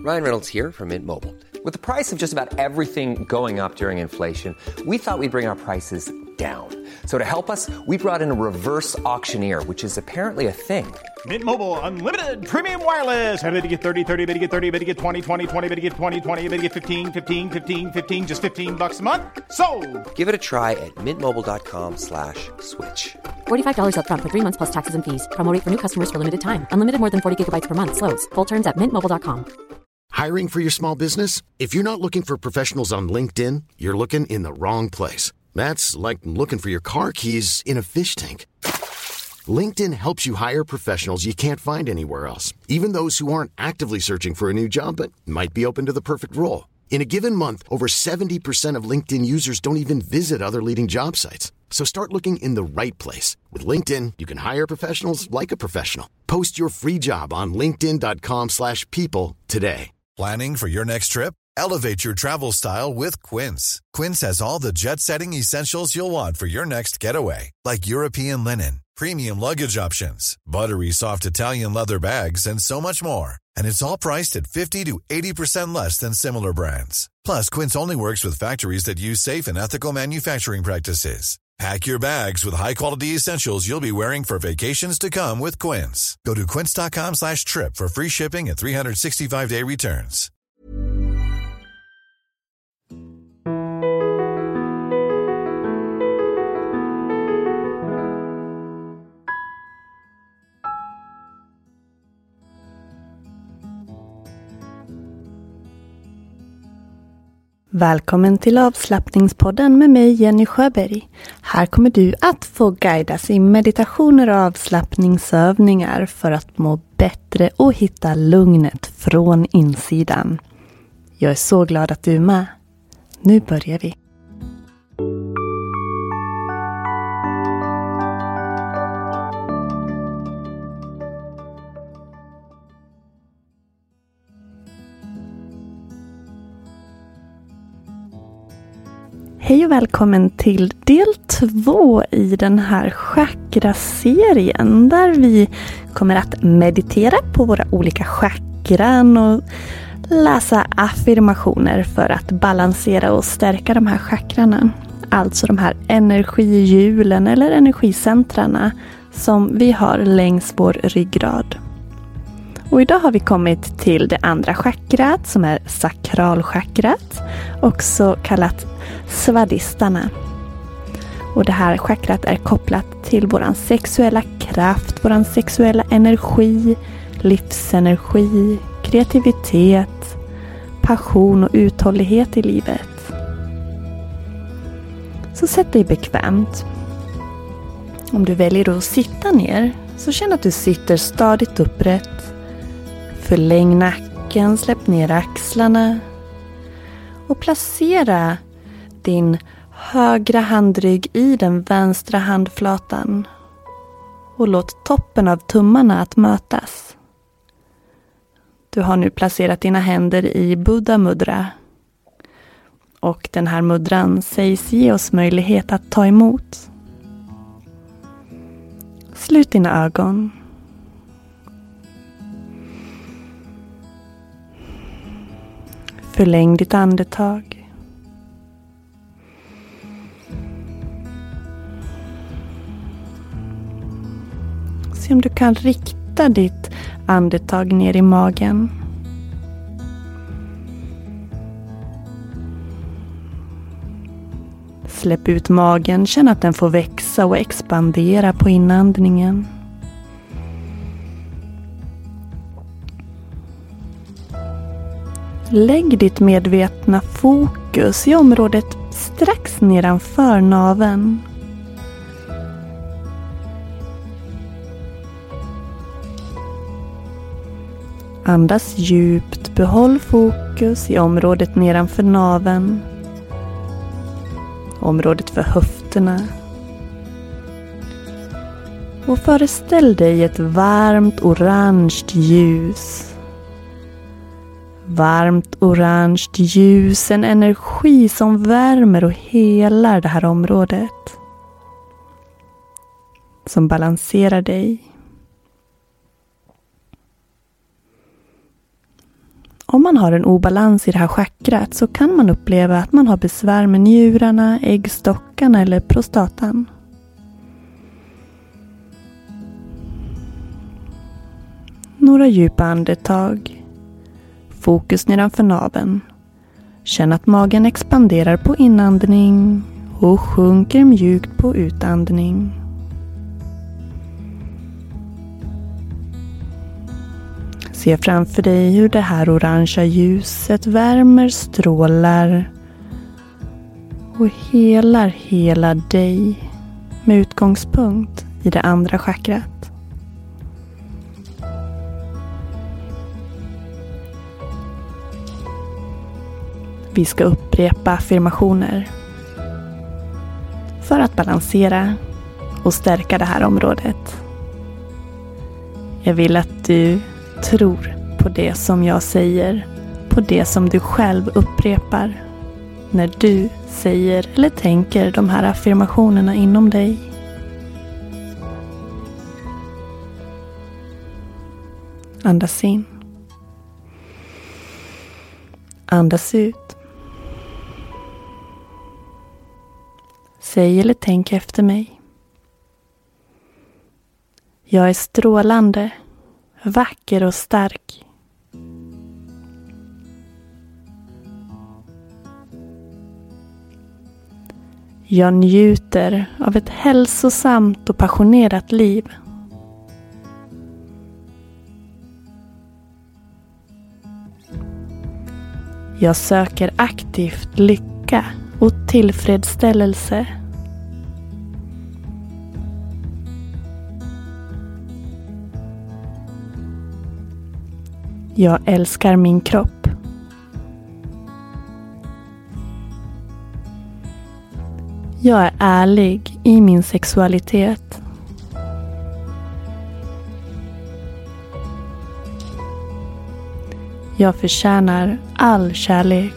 Ryan Reynolds here from Mint Mobile. With the price of just about everything going up during inflation, we thought we'd bring our prices down. So to help us, we brought in a reverse auctioneer, which is apparently a thing. Mint Mobile Unlimited Premium Wireless. How to get 30, 30, bit to get 30, bit to get 20, 20, 20, bit to get 20, 20, bit to get 15, 15, 15, 15, just $15 a month? Sold! Give it a try at mintmobile.com/switch. $45 up front for 3 months plus taxes and fees. Promo rate for new customers for limited time. Unlimited more than 40 gigabytes per month. Slows full terms at mintmobile.com. Hiring for your small business? If you're not looking for professionals on LinkedIn, you're looking in the wrong place. That's like looking for your car keys in a fish tank. LinkedIn helps you hire professionals you can't find anywhere else, even those who aren't actively searching for a new job but might be open to the perfect role. In a given month, over 70% of LinkedIn users don't even visit other leading job sites. So start looking in the right place. With LinkedIn, you can hire professionals like a professional. Post your free job on linkedin.com/people today. Planning for your next trip? Elevate your travel style with Quince. Quince has all the jet-setting essentials you'll want for your next getaway, like European linen, premium luggage options, buttery soft Italian leather bags, and so much more. And it's all priced at 50 to 80% less than similar brands. Plus, Quince only works with factories that use safe and ethical manufacturing practices. Pack your bags with high-quality essentials you'll be wearing for vacations to come with Quince. Go to quince.com/trip for free shipping and 365-day returns. Välkommen till avslappningspodden med mig Jenny Sjöberg. Här kommer du att få guidas i meditationer och avslappningsövningar för att må bättre och hitta lugnet från insidan. Jag är så glad att du är med. Nu börjar vi. Hej och välkommen till del 2 i den här chakra-serien där vi kommer att meditera på våra olika chakran och läsa affirmationer för att balansera och stärka de här chakrarna. Alltså de här energihjulen eller energicentrarna som vi har längs vår ryggrad. Och idag har vi kommit till det andra chakrat som är sakralchakrat, också kallat svadhisthana. Och det här chakrat är kopplat till våran sexuella kraft, våran sexuella energi, livsenergi, kreativitet, passion och uthållighet i livet. Så sätt dig bekvämt. Om du väljer att sitta ner så känn att du sitter stadigt upprätt. Förläng nacken, släpp ner axlarna och placera din högra handrygg i den vänstra handflatan och låt toppen av tummarna att mötas. Du har nu placerat dina händer i Buddha mudra och den här mudran sägs ge oss möjlighet att ta emot. Slut dina ögon. Förläng ditt andetag. Se om du kan rikta ditt andetag ner i magen. Släpp ut magen, känn att den får växa och expandera på inandningen. Lägg ditt medvetna fokus i området strax nedanför naveln. Andas djupt, behåll fokus i området nedanför naveln. Området för höfterna. Och föreställ dig ett varmt orange ljus. Varmt orange ljus, en energi som värmer och helar det här området. Som balanserar dig. Om man har en obalans i det här chakrat så kan man uppleva att man har besvär med njurarna, äggstockarna eller prostatan. Några djupa andetag. Fokus nedanför naveln. Känn att magen expanderar på inandning och sjunker mjukt på utandning. Se framför dig hur det här orangea ljuset värmer, strålar och helar hela dig med utgångspunkt i det andra chakrat. Vi ska upprepa affirmationer för att balansera och stärka det här området. Jag vill att du tror på det som jag säger, på det som du själv upprepar när du säger eller tänker de här affirmationerna inom dig. Andas in. Andas ut. Säg eller tänk efter mig. Jag är strålande, vacker och stark. Jag njuter av ett hälsosamt och passionerat liv. Jag söker aktivt lycka och tillfredsställelse. Jag älskar min kropp. Jag är ärlig i min sexualitet. Jag förtjänar all kärlek.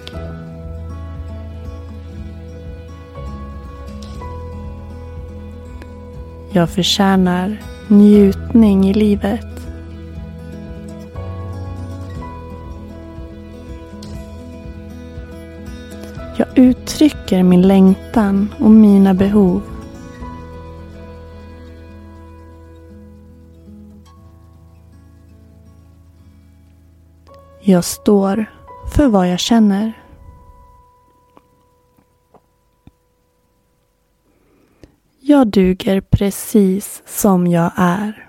Jag förtjänar njutning i livet. Jag uttrycker min längtan och mina behov. Jag står för vad jag känner. Jag duger precis som jag är.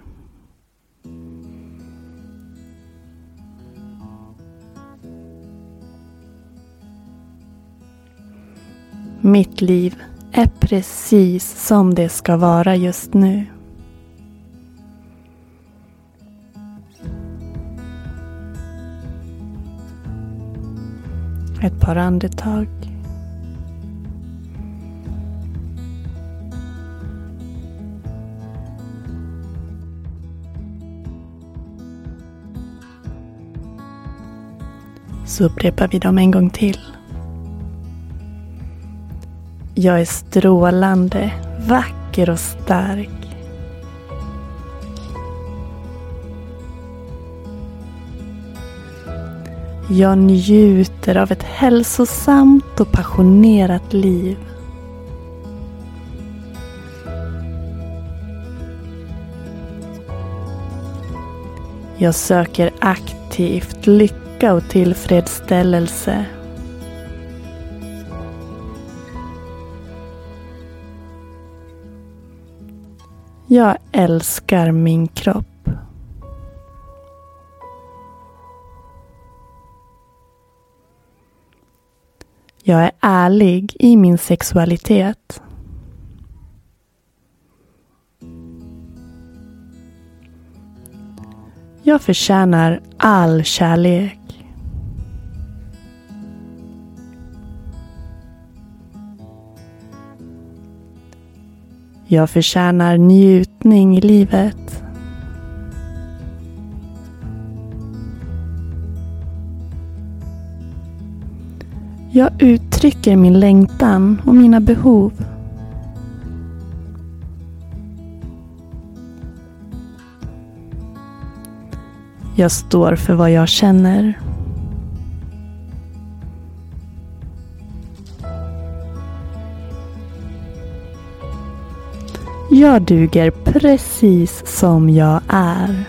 Mitt liv är precis som det ska vara just nu. Ett par andetag. Så upprepar vi dem en gång till. Jag är strålande, vacker och stark. Jag njuter av ett hälsosamt och passionerat liv. Jag söker aktivt lycka och tillfredsställelse. Jag älskar min kropp. Jag är ärlig i min sexualitet. Jag förtjänar all kärlek. Jag förtjänar njutning i livet. Jag uttrycker min längtan och mina behov. Jag står för vad jag känner. Jag duger precis som jag är.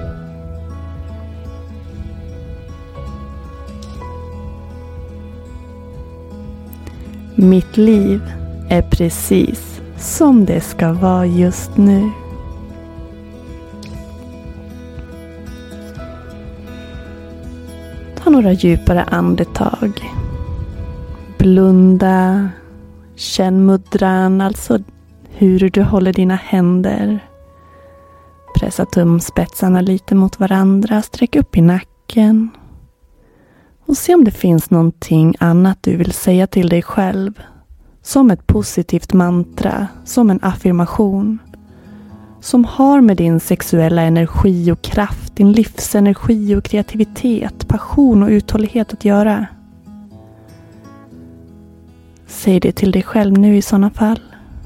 Mitt liv är precis som det ska vara just nu. Ta några djupare andetag. Blunda. Känn mudran, alltså hur du håller dina händer. Pressa tumspetsarna lite mot varandra. Sträck upp i nacken. Och se om det finns någonting annat du vill säga till dig själv. Som ett positivt mantra, som en affirmation. Som har med din sexuella energi och kraft, din livsenergi och kreativitet, passion och uthållighet att göra. Säg det till dig själv nu i sådana fall.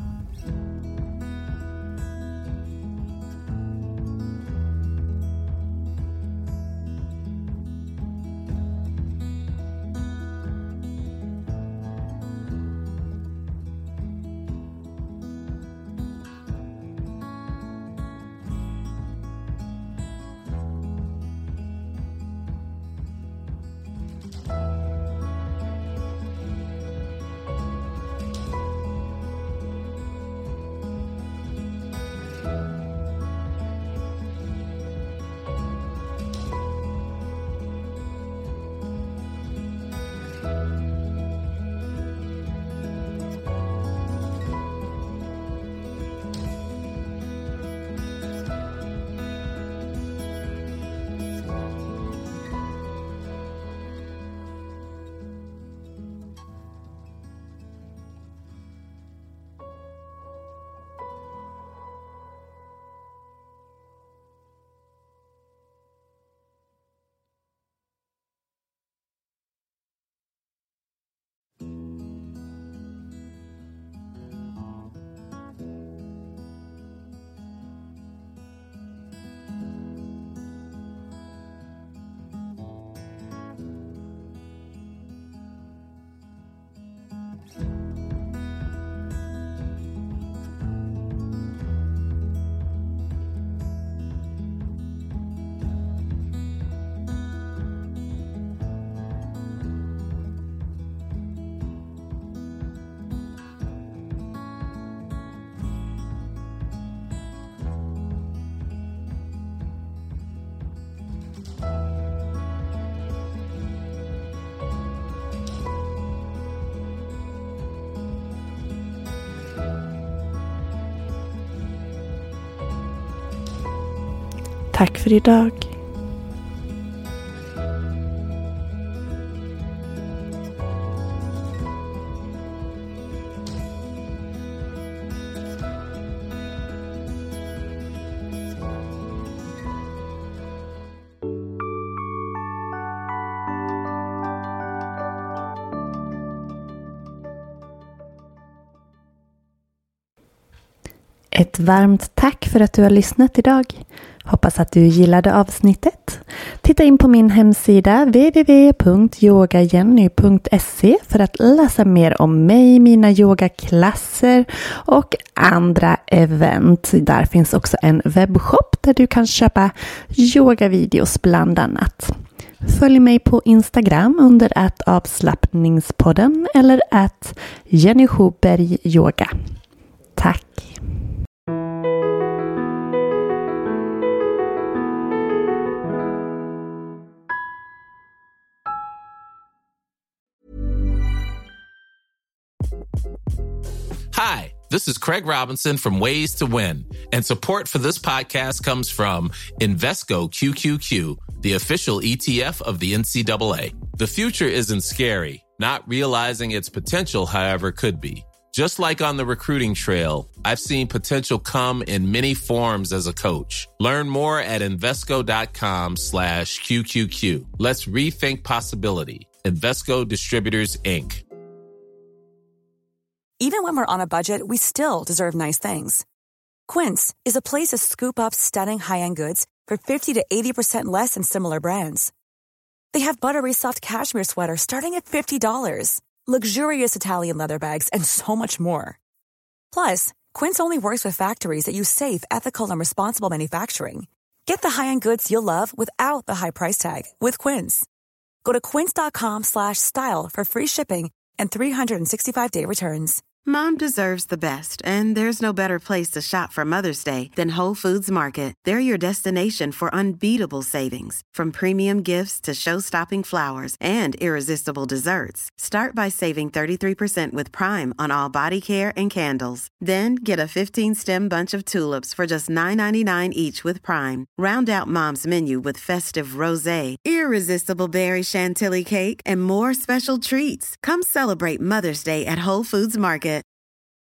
Tack för idag. Ett varmt tack för att du har lyssnat idag. Hoppas att du gillade avsnittet. Titta in på min hemsida www.yogajenny.se för att läsa mer om mig, mina yogaklasser och andra event. Där finns också en webbshop där du kan köpa yogavideos bland annat. Följ mig på Instagram under @avslappningspodden eller @JennySchobergYoga. Tack! Hi, this is Craig Robinson from Ways to Win, and support for this podcast comes from Invesco QQQ, the official ETF of the NCAA. The future isn't scary. Not realizing its potential, however, could be. Just like on the recruiting trail, I've seen potential come in many forms as a coach. Learn more at Invesco.com/QQQ. Let's rethink possibility. Invesco Distributors, Inc. Even when we're on a budget, we still deserve nice things. Quince is a place to scoop up stunning high-end goods for 50 to 80% less than similar brands. They have buttery soft cashmere sweaters starting at $50, luxurious Italian leather bags, and so much more. Plus, Quince only works with factories that use safe, ethical, and responsible manufacturing. Get the high-end goods you'll love without the high price tag with Quince. Go to quince.com/style for free shipping and 365-day returns. Mom deserves the best, and there's no better place to shop for Mother's Day than Whole Foods Market. They're your destination for unbeatable savings, from premium gifts to show-stopping flowers and irresistible desserts. Start by saving 33% with Prime on all body care and candles. Then get a 15-stem bunch of tulips for just $9.99 each with Prime. Round out Mom's menu with festive rosé, irresistible berry chantilly cake, and more special treats. Come celebrate Mother's Day at Whole Foods Market.